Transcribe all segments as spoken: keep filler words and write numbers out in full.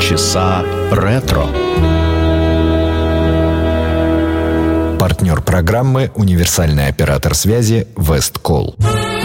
Полчаса ретро. Партнер программы — универсальный оператор связи Весткол.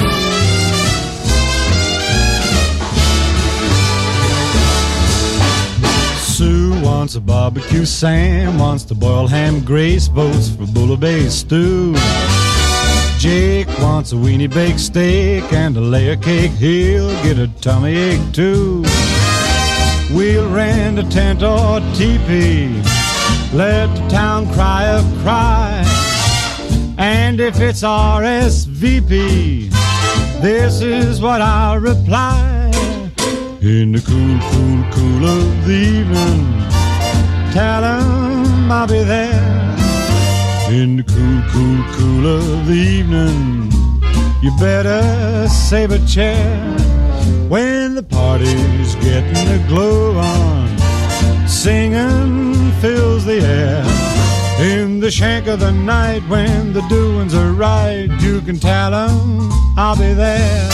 Sue wants a barbecue, Sam wants to boil ham, Grace votes for bouillabaisse stew. Jake wants a weenie baked steak and a layer cake, he'll get a tummy ache too. We'll rent a tent or teepee, let the town cry a cry. And if it's R S V P, this is what I'll reply. In the cool, cool, cool of the evening, tell 'em I'll be there. In the cool, cool, cool of the evening, you better save a chair. When the party's getting the glow on, singing fills the air. In the shank of the night, when the doings are right, you can tell 'em I'll be there.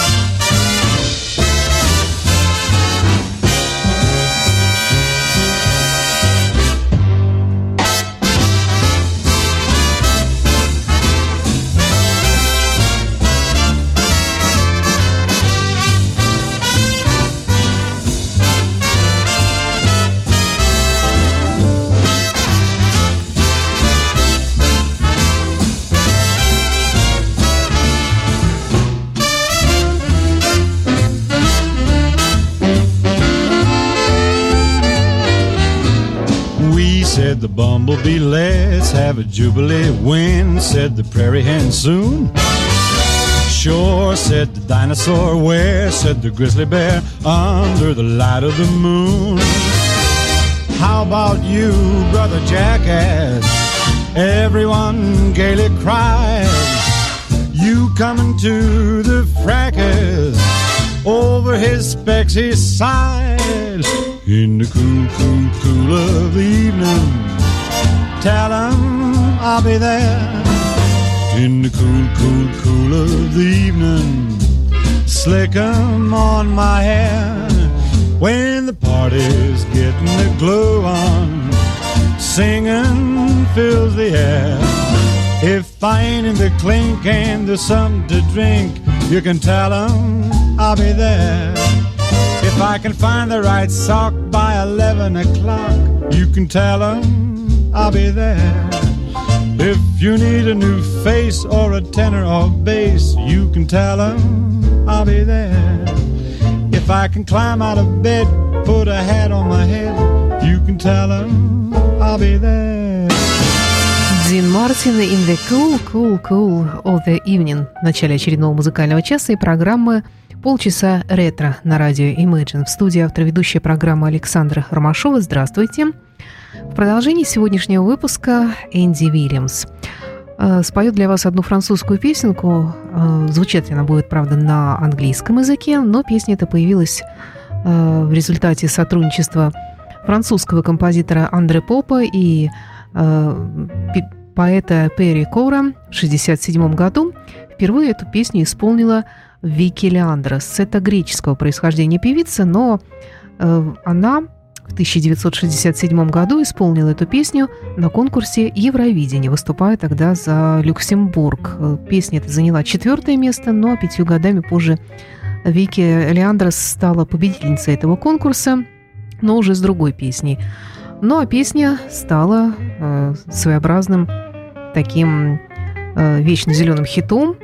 Said the bumblebee, let's have a jubilee. When? Said the prairie hen, soon. Sure, said the dinosaur. Where? Said the grizzly bear, under the light of the moon. How about you, brother jackass? Everyone gaily cried. You coming to the fracas? Over his specs he sighed. In the cool, cool, cool of the evening, tell 'em I'll be there. In the cool, cool, cool of the evening, slick 'em on my hair. When the party's getting the glow on, singing fills the air. If I ain't in the clink and there's something to drink, you can tell 'em I'll be there. If I can find the right sock by eleven o'clock, you can tell 'em I'll be there. If you need a new face or a tenor or bass, you can tell 'em I'll be there. If I can climb out of bed, put a hat on my head, you can tell 'em I'll be there. Дин Мартин in the cool, cool, cool of the evening в начале очередного музыкального часа и программы «Полчаса ретро» на радио Imagine. В студии автор-ведущая программы Александра Ромашова. Здравствуйте. В продолжении сегодняшнего выпуска Энди Уильямс споет для вас одну французскую песенку. Звучать она будет, правда, на английском языке, но песня эта появилась в результате сотрудничества французского композитора Андре Попа и поэта Перри Кора в шестьдесят седьмом году. Впервые эту песню исполнила Вики Леандрос. Это греческого происхождения певица, но э, она в тысяча девятьсот шестьдесят седьмом году исполнила эту песню на конкурсе Евровидения, выступая тогда за Люксембург. Песня эта заняла четвертое место, но пятью годами позже Вики Леандрос стала победительницей этого конкурса, но уже с другой песней. Ну а песня стала э, своеобразным таким э, вечно зеленым хитом.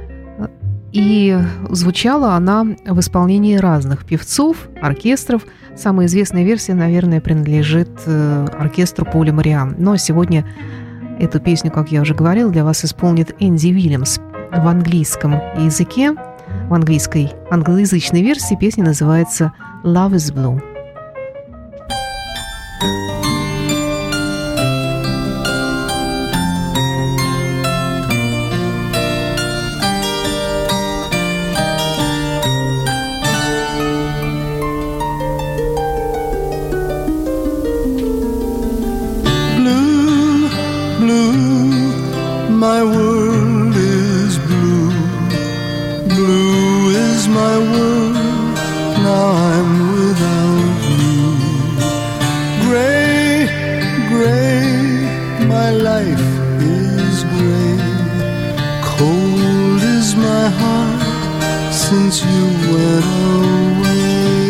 И звучала она в исполнении разных певцов, оркестров. Самая известная версия, наверное, принадлежит оркестру Поля Мориан. Но сегодня эту песню, как я уже говорила, для вас исполнит Энди Уильямс в английском языке. В английской, англоязычной версии песня называется «Love is Blue». My world is blue, blue is my world, now I'm without you. since you went away.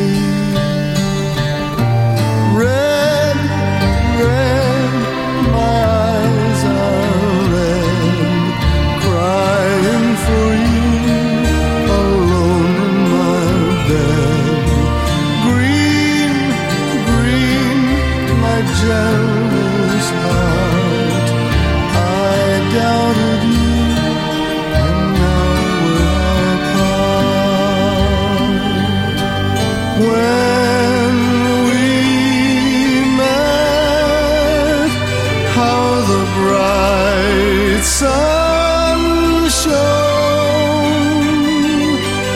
Red, red, my eyes are red, crying for you, alone in my bed. Green, green, my jealous heart, I doubted you. When we met, how the bright sun shone.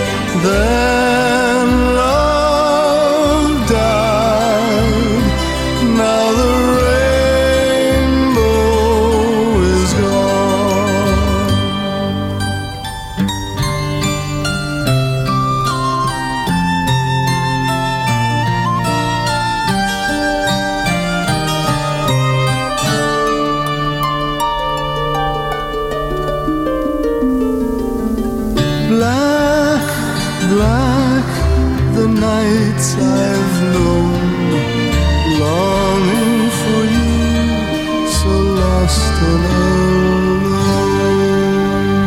Then love died. Now the rainbow is gone. Black, black, the nights I've known, longing for you, so lost and alone.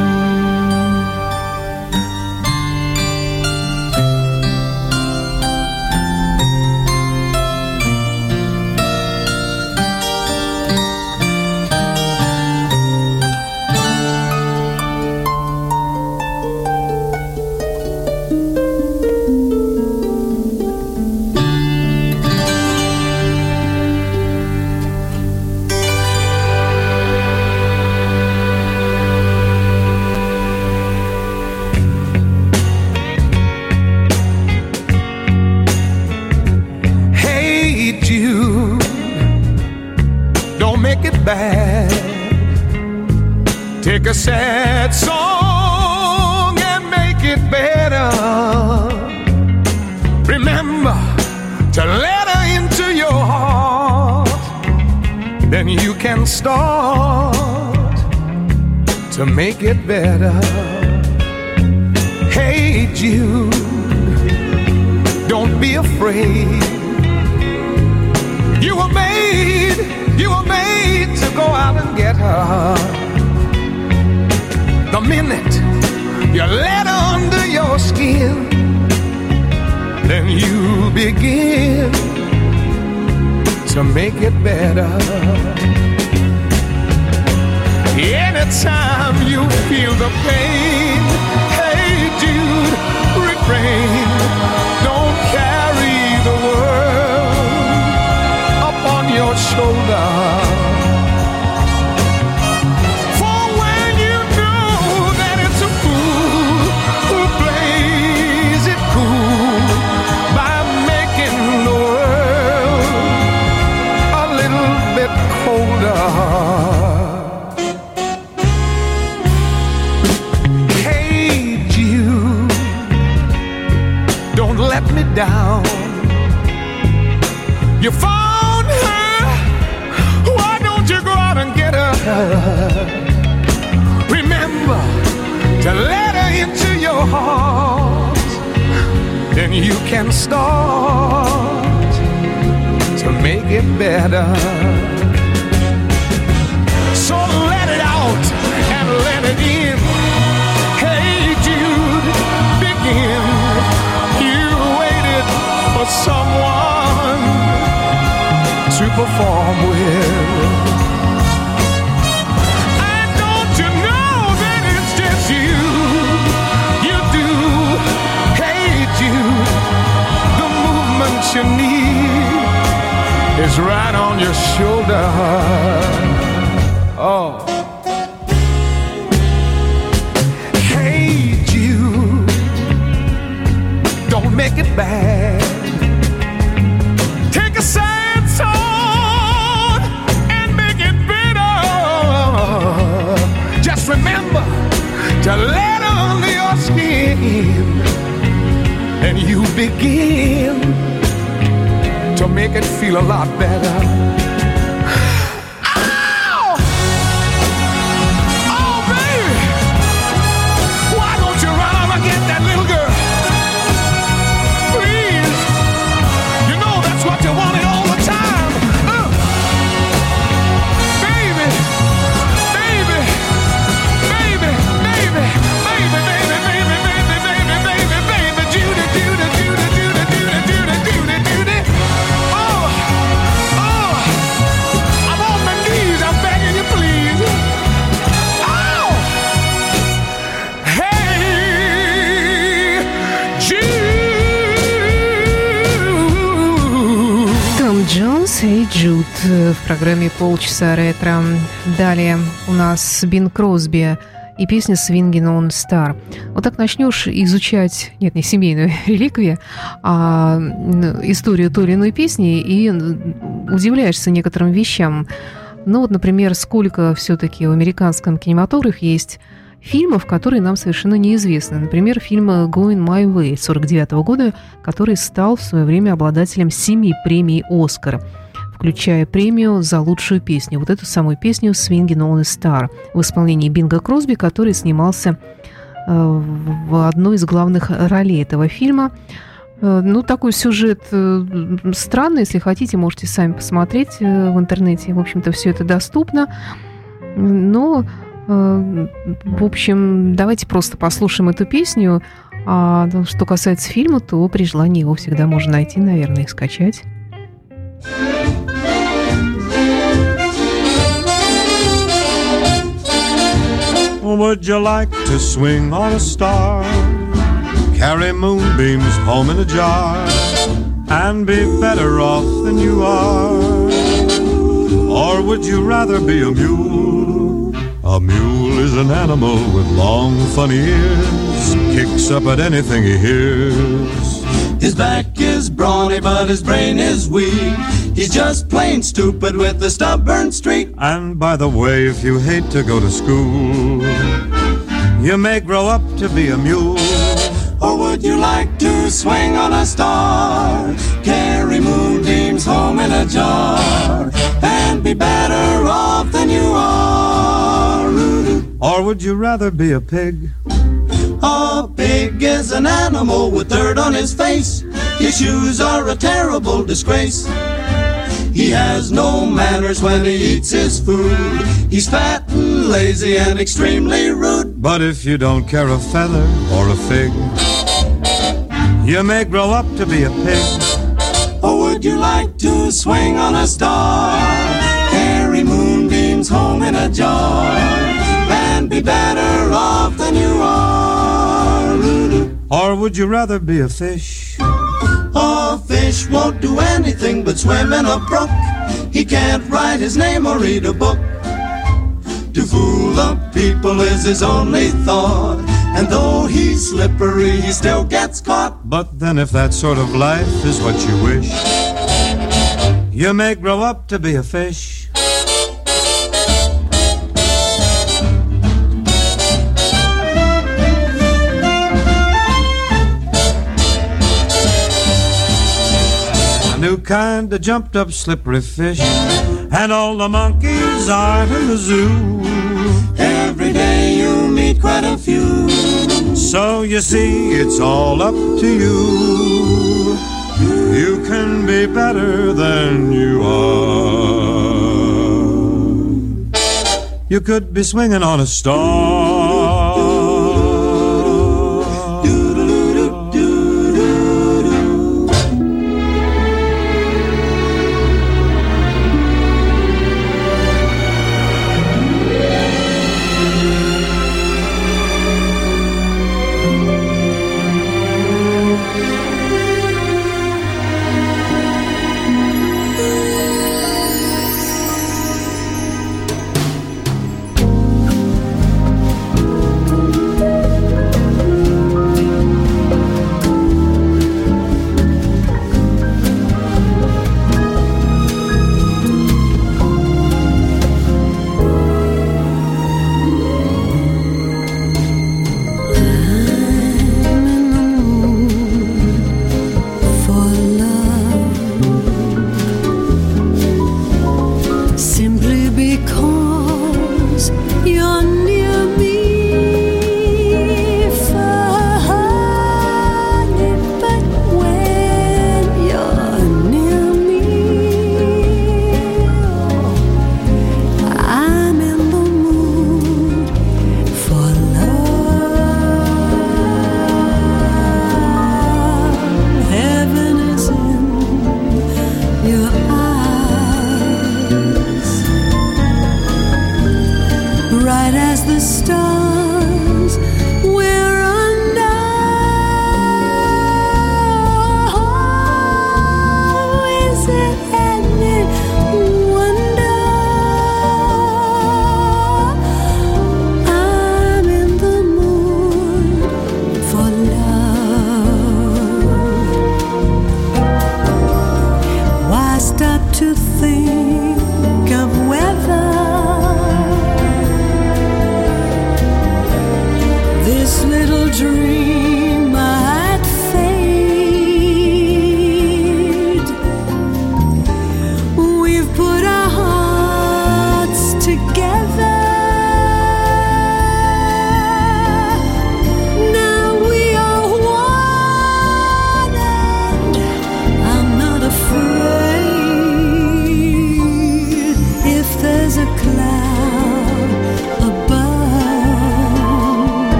Hey Jude, don't make it bad. Take a sad song and make it better. Remember to let her into your heart, then you can start to make it better. Hey Jude, don't be afraid. You were made, you were made to go out and get her. The minute you let her under your skin, then you begin to make it better. Anytime you feel the pain, hey Jude, refrain. Don't carry the world upon your shoulder. For when you know that it's a fool who plays it cool by making the world a little bit colder. Let me down. You found her, why don't you go out and get her? Remember to let her into your heart, then you can start to make it better. So let it out and let it in. Hey Jude, begin. For someone to perform with. And don't you know that it's just you? You do. Hey Jude, the movement you need is right on your shoulder. Oh. Hey Jude, don't make it bad. Take a sad song and make it bitter. Just remember to let under your skin, and you begin to make it feel a lot better. Ow! Oh, baby, why don't you run and get that little girl? «Hey Jude» в программе «Полчаса ретро». Далее у нас Бин Кросби и песня «Swingin' on a Star». Вот так начнешь изучать, нет, не семейную реликвию, а историю той или иной песни и удивляешься некоторым вещам. Ну вот, например, сколько все-таки в американском кинематографе есть фильмов, которые нам совершенно неизвестны. Например, фильм «Going My Way» сорок девятого года, который стал в свое время обладателем семи премий «Оскар», включая премию за лучшую песню. Вот эту самую песню «Swingin' on a Star» в исполнении Бинга Кросби, который снимался в одной из главных ролей этого фильма. Ну, такой сюжет странный. Если хотите, можете сами посмотреть в интернете. В общем-то, все это доступно. Но... В общем, давайте просто послушаем эту песню. А что касается фильма, то при желании его всегда можно найти, наверное, и скачать. Would you like to swing on a star? Carry moonbeams home in a jar and be better off than you are? Or would you rather be a mule? A mule is an animal with long, funny ears, kicks up at anything he hears. His back is brawny, but his brain is weak. He's just plain stupid with a stubborn streak. And by the way, if you hate to go to school, you may grow up to be a mule. Or would you like to swing on a star, carry moonbeams home in a jar, and be better off than you are? Or would you rather be a pig? A pig is an animal with dirt on his face. His shoes are a terrible disgrace. He has no manners when he eats his food. He's fat and lazy and extremely rude. But if you don't care a feather or a fig, you may grow up to be a pig. Or would you like to swing on a star, carry moonbeams home in a jar, and be better off than you are? Or would you rather be a fish? A fish won't do anything but swim in a brook. He can't write his name or read a book. To fool the people is his only thought, and though he's slippery, he still gets caught. But then if that sort of life is what you wish, you may grow up to be a fish. A new kind of jumped up slippery fish, and all the monkeys are in the zoo. Every day you meet quite a few. So you see, it's all up to you. You can be better than you are. You could be swinging on a star.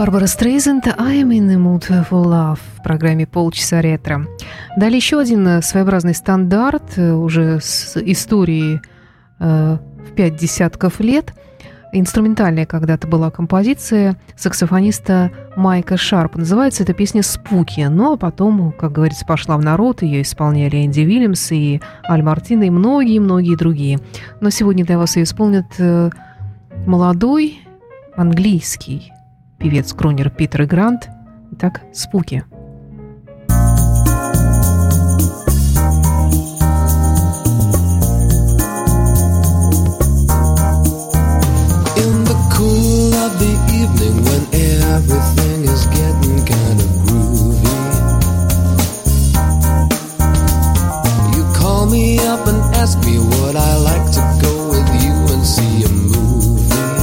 Барбара Стрейзенд «I'm in the mood for love» в программе «Полчаса ретро». Далее еще один своеобразный стандарт, уже с историей э, в пять десятков лет. Инструментальная когда-то была композиция саксофониста Майка Шарпа. Называется эта песня «Спуки». Ну, а потом, как говорится, пошла в народ. Ее исполняли Энди Уильямс и Аль Мартино и многие-многие другие. Но сегодня для вас ее исполнит э, молодой английский певец-кронер Питер Грант. Итак, «Спуки». When everything is getting kind of groovy, you call me up and ask me would I like to go with you and see a movie.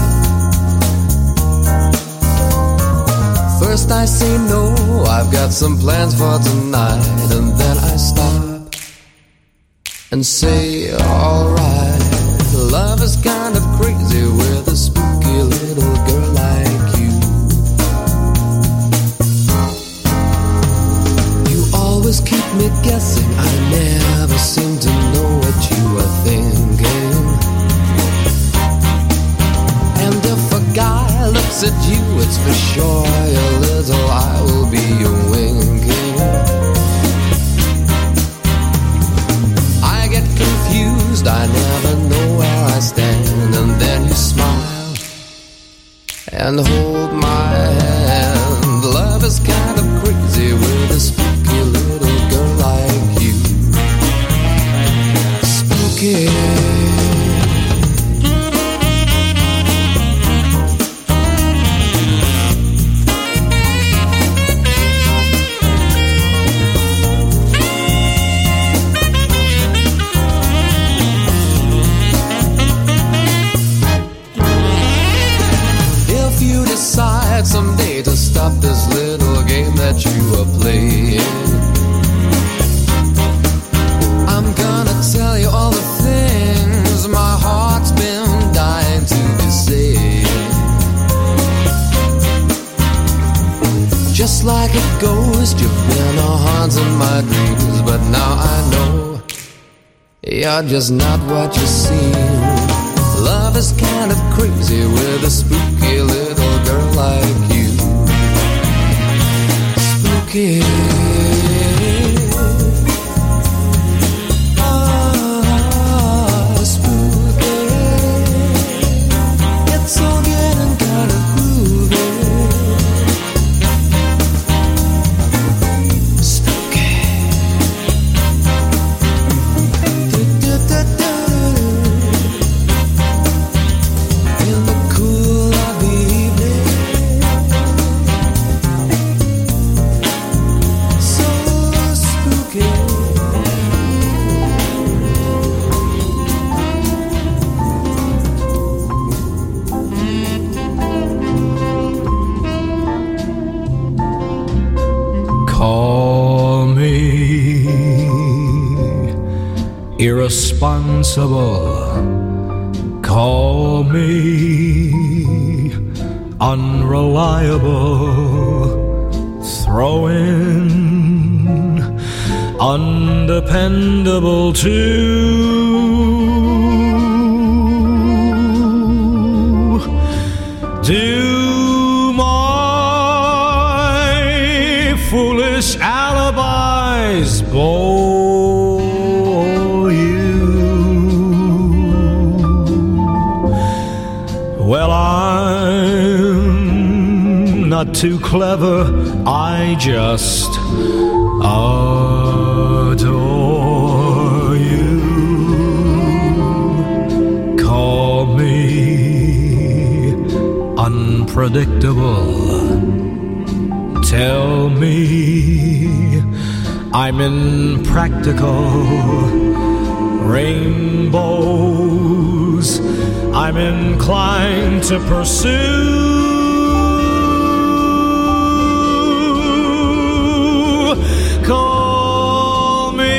First I say no, I've got some plans for tonight, and then I stop and say alright. Love is kind of crazy with a spooky little girl like you. You always keep me guessing, I never seem to know what you are thinking. And if a guy looks at you, it's for sure a little I will be winking. I get confused, I never know where I stand, and then you smile and hold my hand. Love is kind of crazy with a spooky little girl like you. Spooky. Someday to stop this little game that you are playing, I'm gonna tell you all the things my heart's been dying to be saying. Just like a ghost, you've been a haunting my dreams, but now I know you're just not what you seem. Love is kind of crazy with a spooky little girl like you. Spooky. Ah, spooky. It's all getting kind of groovy. Spooky. Du-du-du-du. Call me irresponsible, call me unreliable, throw in undependable too. Do my foolish alibis bore you? Well, I'm not too clever, I just adore you. Call me unpredictable, tell me I'm impractical. Rainbows I'm inclined to pursue. Call me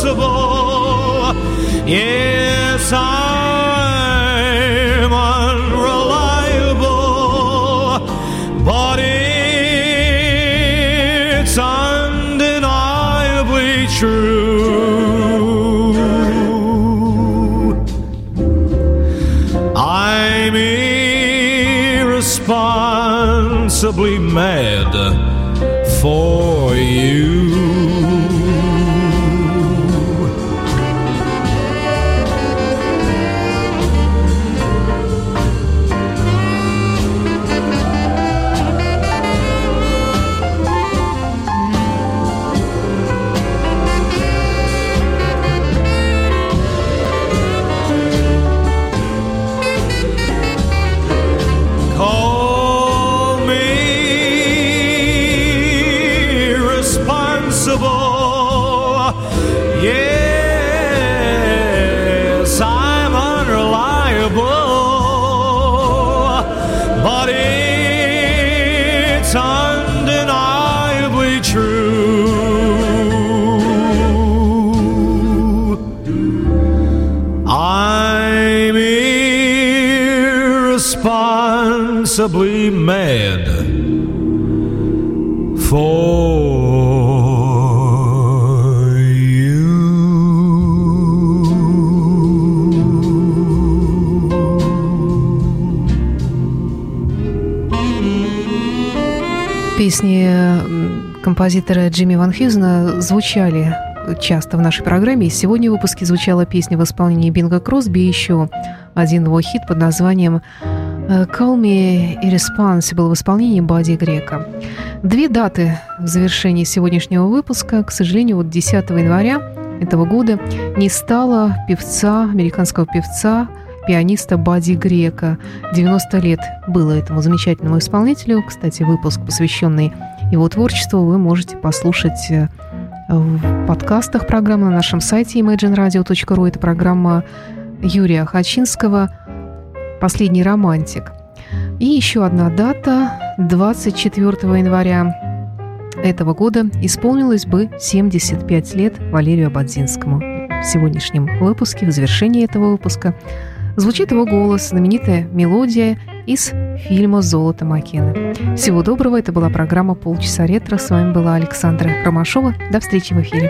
irresponsible. Yes, I'm unreliable. true. I'm irresponsibly mad for you. Yes, I'm unreliable, but it's undeniably true. I'm irresponsibly mad for Песни композитора Джимми Ван Хьюзена звучали часто в нашей программе. И сегодня в выпуске звучала песня в исполнении Бинга Кросби и еще один его хит под названием «Call Me Irresponsible» в исполнении Бадди Грека. Две даты в завершении сегодняшнего выпуска. К сожалению, вот десятого января этого года не стало певца, американского певца, пианиста Бадди Грека. девяносто лет было этому замечательному исполнителю. Кстати, выпуск, посвященный его творчеству, вы можете послушать в подкастах программы на нашем сайте имэджин радио точка ру. Это программа Юрия Хачинского «Последний романтик». И еще одна дата. двадцать четвёртого января этого года исполнилось бы семьдесят пять лет Валерию Ободзинскому. В сегодняшнем выпуске, в завершении этого выпуска, звучит его голос, знаменитая мелодия из фильма «Золото Маккены». Всего доброго. Это была программа «Полчаса ретро». С вами была Александра Ромашова. До встречи в эфире.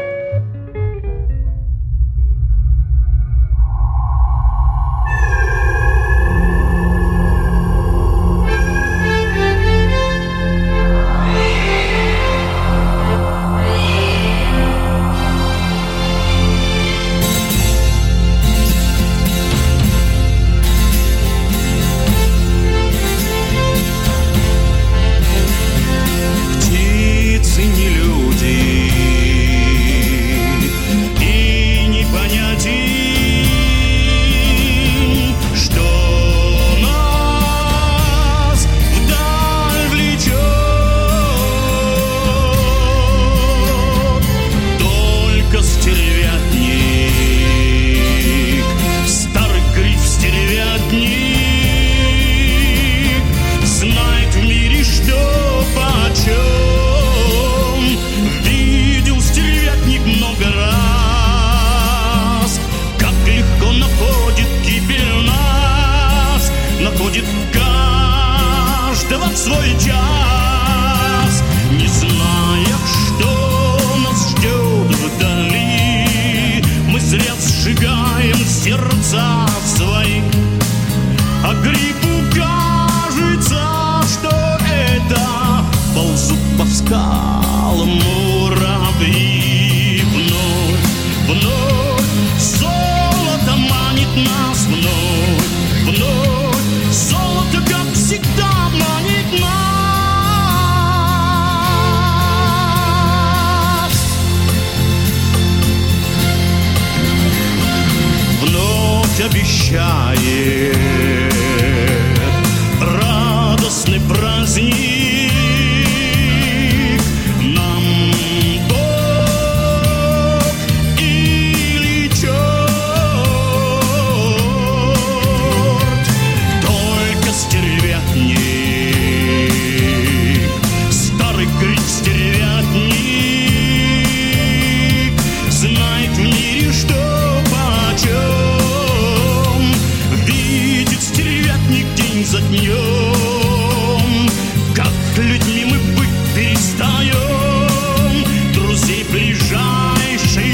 Людьми мы быть перестаем, друзей ближайшей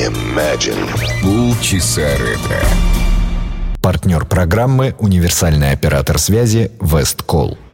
Imagine. Полчаса ретро. Партнер программы — универсальный оператор связи Весткол.